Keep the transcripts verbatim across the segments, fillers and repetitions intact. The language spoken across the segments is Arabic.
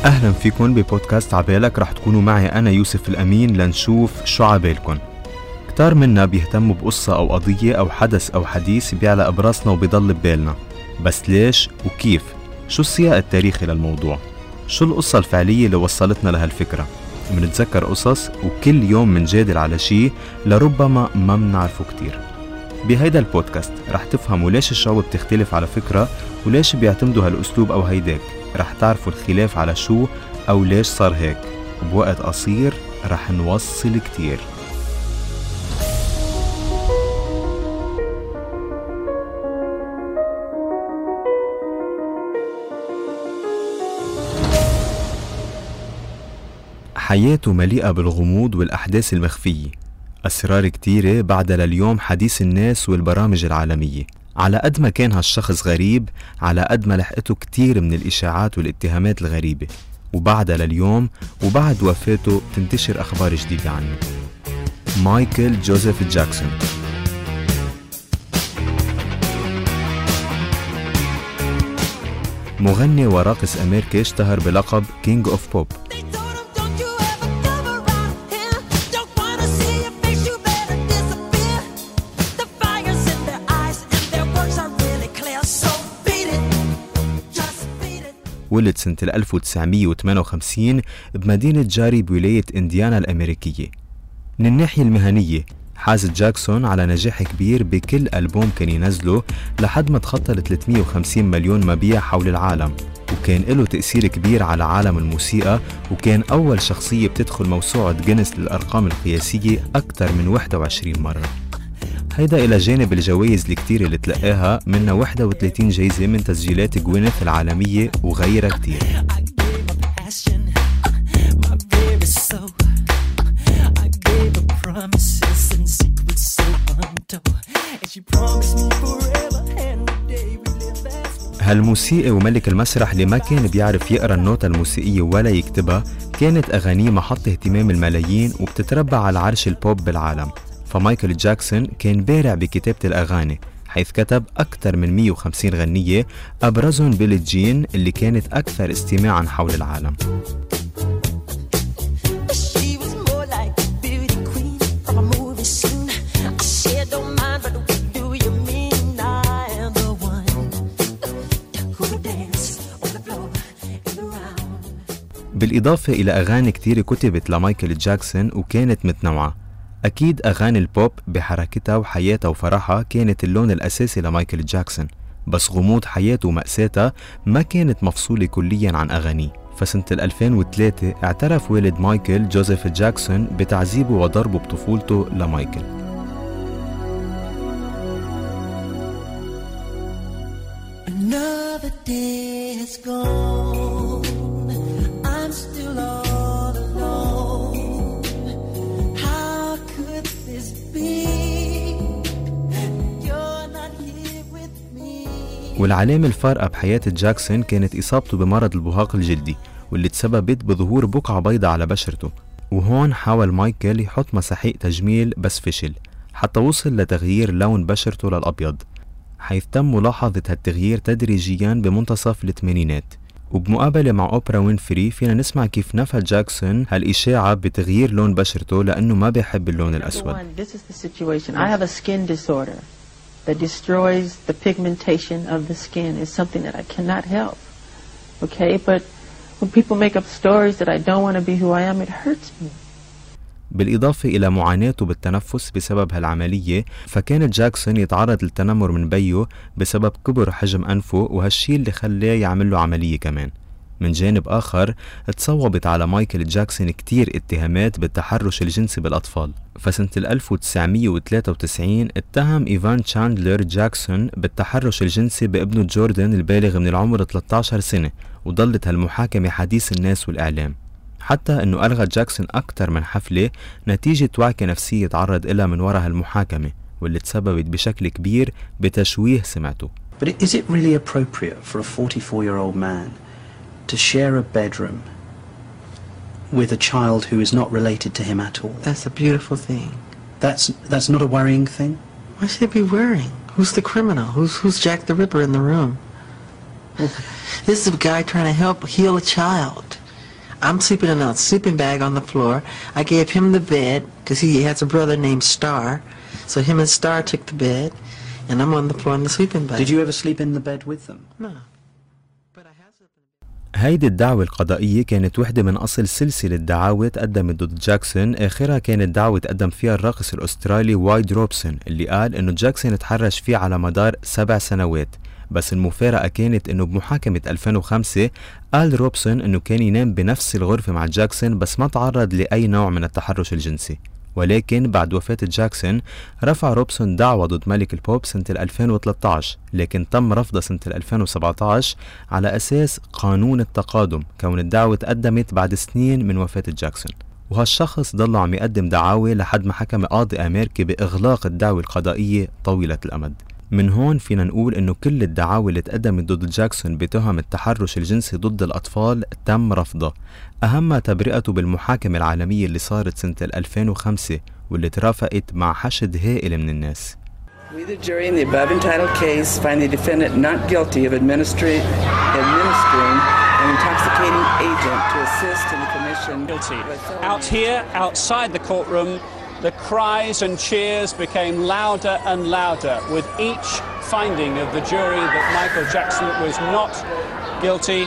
أهلا فيكم ببودكاست عبالك. رح تكونوا معي أنا يوسف الأمين لنشوف شو عبالكن. كتار منا بيهتموا بقصة أو قضية أو حدث أو حديث بيعلق براسنا وبيضل ببالنا، بس ليش وكيف؟ شو السياق التاريخي للموضوع؟ شو القصة الفعلية اللي وصلتنا لهالفكرة؟ منتذكر قصص وكل يوم منجادل على شي لربما ما منعرفه كتير. بهيدا البودكاست رح تفهموا ليش الشعوب بتختلف على فكرة وليش بيعتمدوا هالأسلوب أو هيداك. رح تعرفوا الخلاف على شو أو ليش صار هيك. بوقت قصير رح نوصل كتير. حياته مليئة بالغموض والأحداث المخفية، أسرار كتيرة بعدها لليوم حديث الناس والبرامج العالمية. على قد ما كان هالشخص غريب، على قد ما لحقته كتير من الإشاعات والاتهامات الغريبة، وبعدها لليوم وبعد وفاته تنتشر أخبار جديدة عنه. مايكل جوزيف جاكسون. مغني وراقص أمريكي اشتهر بلقب كينج اوف بوب. ولد سنة ألف وتسعمية وثمانية وخمسين بمدينة جاري بولاية إنديانا الأمريكية. من الناحية المهنية حاز جاكسون على نجاح كبير بكل ألبوم كان ينزله لحد ما تخطى ل ثلاثمية وخمسين مليون مبيع حول العالم، وكان له تأثير كبير على عالم الموسيقى، وكان أول شخصية بتدخل موسوعة جينيس للأرقام القياسية أكثر من واحد وعشرين مرة. هيدا إلى جانب الجوائز الكتير اللي تلقاها، منها واحد وثلاثين جايزة من تسجيلات جوينث العالمية وغيرها كتير. هالموسيقى وملك المسرح اللي ما كان بيعرف يقرأ النوتة الموسيقية ولا يكتبها، كانت أغانيه محط اهتمام الملايين وبتتربع على عرش البوب بالعالم. فمايكل جاكسون كان بارع بكتابة الأغاني، حيث كتب أكثر من مية وخمسين غنية، أبرزهم بيلي جين اللي كانت أكثر استماعاً حول العالم. بالإضافة إلى أغاني كتير كتبت لمايكل جاكسون وكانت متنوعة. أكيد أغاني البوب بحركتها وحياتها وفرحها كانت اللون الأساسي لمايكل جاكسون، بس غموض حياته ومأساتها ما كانت مفصولة كلياً عن أغانيه. فسنة ألفين وثلاثة اعترف والد مايكل جوزيف جاكسون بتعذيبه وضربه بطفولته لمايكل. Another day has gone. I'm still all alone. How could this be? You're not here with me. والعلامة الفارقة بحياة جاكسون كانت إصابته بمرض البهاق الجلدي، واللي تسببت بظهور بقعة بيضاء على بشرته. وهون حاول مايكل يحط مساحيق تجميل بس فشل، حتى وصل لتغيير لون بشرته للأبيض، حيث تم ملاحظة هالتغيير تدريجياً بمنتصف الثمانينات. وبمقابلة مع أوبرا وينفري فينا نسمع كيف نفى جاكسون هالإشاعة بتغيير لون بشرته لأنه ما بيحب اللون الأسود. This is the situation. I have a skin disorder that destroys the pigmentation of the skin. It's something that I cannot help. Okay, but when people make up stories that I don't want to be who I am, it hurts me. بالإضافة إلى معاناته بالتنفس بسبب هالعملية، فكان جاكسون يتعرض للتنمر من بيه بسبب كبر حجم أنفه، وهالشي اللي خلاه يعمل له عملية كمان. من جانب آخر تصوبت على مايكل جاكسون كتير اتهامات بالتحرش الجنسي بالأطفال. فسنة ألف وتسعمية وثلاثة وتسعين اتهم إيفان تشاندلر جاكسون بالتحرش الجنسي بابنه جوردن البالغ من العمر ثلاثة عشر سنة، وظلت هالمحاكمة حديث الناس والإعلام، حتى أنه ألغى جاكسون أكثر من حفلة نتيجة وعكة نفسية تعرض إلها من وراء هالمحاكمة، واللي تسببت بشكل كبير بتشويه سمعته. But is it really appropriate for a forty-four-year-old man to share a bedroom with a child who is not related to him at all? That's a beautiful thing. That's that's not a worrying thing? Why should it be worrying? Who's the criminal? Who's who's Jack the Ripper in the room? This is a guy trying to help heal a child. I'm sleeping in a sleeping bag on the floor. I gave him the bed because he has a brother named Star. So him and Star took the bed, and I'm on the floor in the sleeping bag. Did you ever sleep in the bed with them? No. But I have slept in هيدي الدعوة القضائية كانت وحدة من أصل سلسلة دعاوى تقدمت ضد جاكسون. آخرها كانت دعوة تقدم فيها الراقص الأسترالي وايد روبسون اللي قال إنه جاكسون تحرش فيه على مدار سبع سنوات. بس المفارقة كانت إنه بمحاكمة ألفين وخمسة قال روبسون إنه كان ينام بنفس الغرفة مع جاكسون بس ما تعرض لأي نوع من التحرش الجنسي. ولكن بعد وفاة جاكسون رفع روبسون دعوة ضد ملك البوب سنة ألفين وثلاثة عشر، لكن تم رفضها سنة ألفين وسبعة عشر على أساس قانون التقادم، كون الدعوة تقدمت بعد سنين من وفاة جاكسون. وهالشخص ضل عم يقدم دعاوى لحد ما حكم قاضي أمريكي بإغلاق الدعوة القضائية طويلة الأمد. من هون فينا نقول إنه كل الدعاوى اللي تقدمت ضد جاكسون بتهم التحرش الجنسي ضد الأطفال تم رفضها، أهمها تبرئته بالمحاكمة العالمية اللي صارت سنة ألفين وخمسة واللي ترافقت مع حشد هائل من الناس. We, the jury in the above entitled case, find the defendant not guilty of administering, administering an intoxicating agent to assist in the commission. Guilty. Out here, outside the courtroom, the cries and cheers became louder and louder with each finding of the jury that Michael Jackson was not guilty.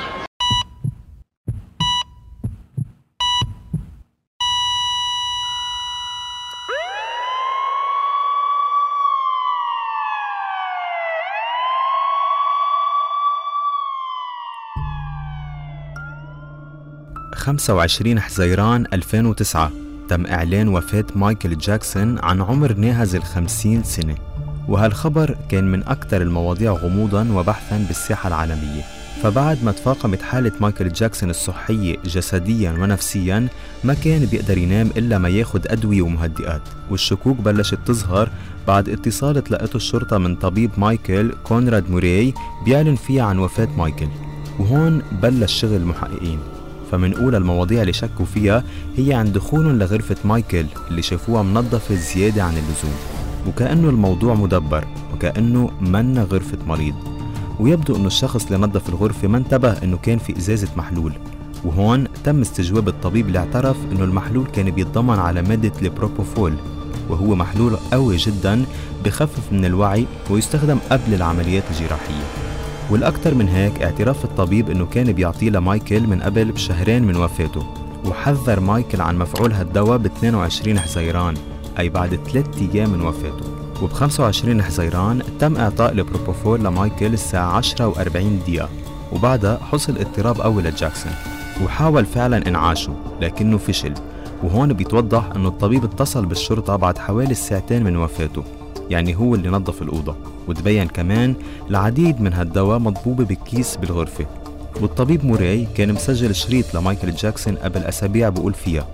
خمسة وعشرين حزيران ألفين وتسعة تم إعلان وفاة مايكل جاكسون عن عمر ناهز الخمسين سنة، وهالخبر كان من أكثر المواضيع غموضاً وبحثاً بالساحة العالمية. فبعد ما تفاقمت حالة مايكل جاكسون الصحية جسدياً ونفسياً ما كان بيقدر ينام إلا ما ياخد أدوية ومهدئات، والشكوك بلشت تظهر بعد اتصال تلقته الشرطة من طبيب مايكل كونراد موراي بيعلن فيها عن وفاة مايكل. وهون بلش شغل المحققين، فمنقول المواضيع اللي شكوا فيها هي عن دخولهم لغرفة مايكل اللي شافوها منظفة زيادة عن اللزوم، وكأنه الموضوع مدبر وكأنه منا غرفة مريض. ويبدو أنه الشخص اللي نظف الغرفة ما انتبه أنه كان في إزازة محلول، وهون تم استجواب الطبيب اللي اعترف أنه المحلول كان بيتضمن على مادة البروبوفول، وهو محلول قوي جدا بخفف من الوعي ويستخدم قبل العمليات الجراحية. والأكثر من هيك اعتراف الطبيب أنه كان بيعطيه لمايكل من قبل بشهرين من وفاته، وحذر مايكل عن مفعول هالدواء ب اثنين وعشرين حزيران أي بعد ثلاثة أيام من وفاته. وب خمسة وعشرين حزيران تم إعطاء البروبوفول لمايكل الساعة عشرة وأربعين دقيقة، وبعدها حصل اضطراب قوي لجاكسون وحاول فعلا إنعاشه لكنه فشل. وهون بيتوضح أنه الطبيب اتصل بالشرطة بعد حوالي ساعتين من وفاته، يعني هو اللي نظف الأوضة. وتبين كمان العديد من هالدواء مضبوبة بكيس بالغرفة. والطبيب موراي كان مسجل شريط لمايكل جاكسون قبل أسابيع بقول فيها: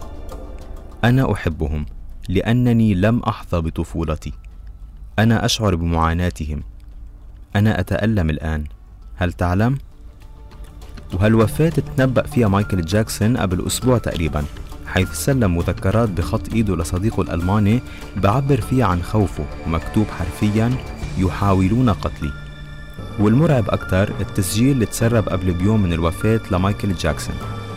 أنا أحبهم لأنني لم أحظى بطفولتي، أنا أشعر بمعاناتهم، أنا أتألم الآن، هل تعلم؟ وهالوفاة تنبأ فيها مايكل جاكسون قبل أسبوع تقريبا، حيث سلم مذكرات بخط إيده لصديقه الألماني بعبر فيها عن خوفه، مكتوب حرفيا: يحاولون قتلي. والمرعب أكتر التسجيل اللي تسرب قبل بيوم من الوفاة لمايكل جاكسون.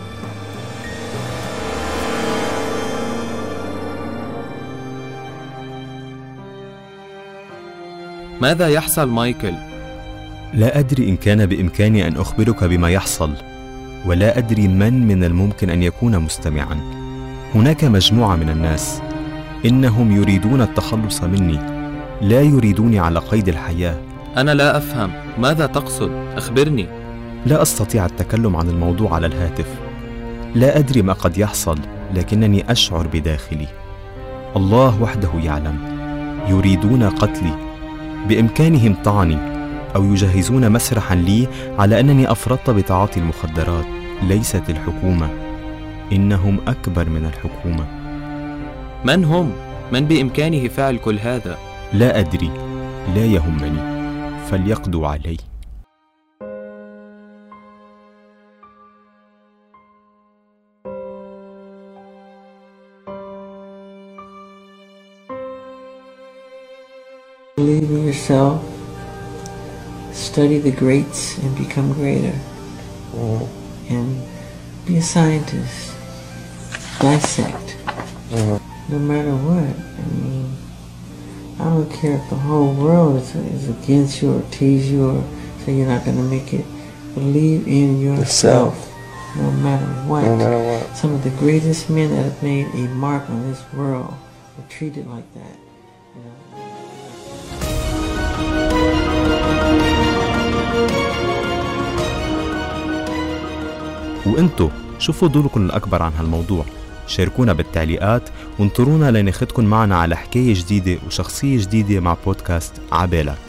ماذا يحصل مايكل؟ لا أدري إن كان بإمكاني أن أخبرك بما يحصل، ولا أدري من من الممكن أن يكون مستمعا. هناك مجموعة من الناس إنهم يريدون التخلص مني، لا يريدوني على قيد الحياة. أنا لا أفهم، ماذا تقصد؟ أخبرني. لا أستطيع التكلم عن الموضوع على الهاتف. لا أدري ما قد يحصل، لكنني أشعر بداخلي الله وحده يعلم. يريدون قتلي، بإمكانهم طعني أو يجهزون مسرحا لي على أنني أفرطت بتعاطي المخدرات. ليست الحكومة، إنهم أكبر من الحكومة. من هم؟ من بإمكانه فعل كل هذا؟ لا أدري، لا يهمني، فليقضوا علي. Believe in yourself, study the greats and become greater, and be a scientist. dissect. Mm-hmm. No matter what. I mean, I don't care if the whole world is, is against you or tease you or say you're not going to make it. Believe in yourself. Yourself. No matter what. No matter what. Some of the greatest men that have made a mark on this world were treated like that. You know? وانتو شو فضولكم الأكبر عن هالموضوع؟ شاركونا بالتعليقات وانطرونا لناخدكن معنا على حكاية جديدة وشخصية جديدة مع بودكاست عبالك.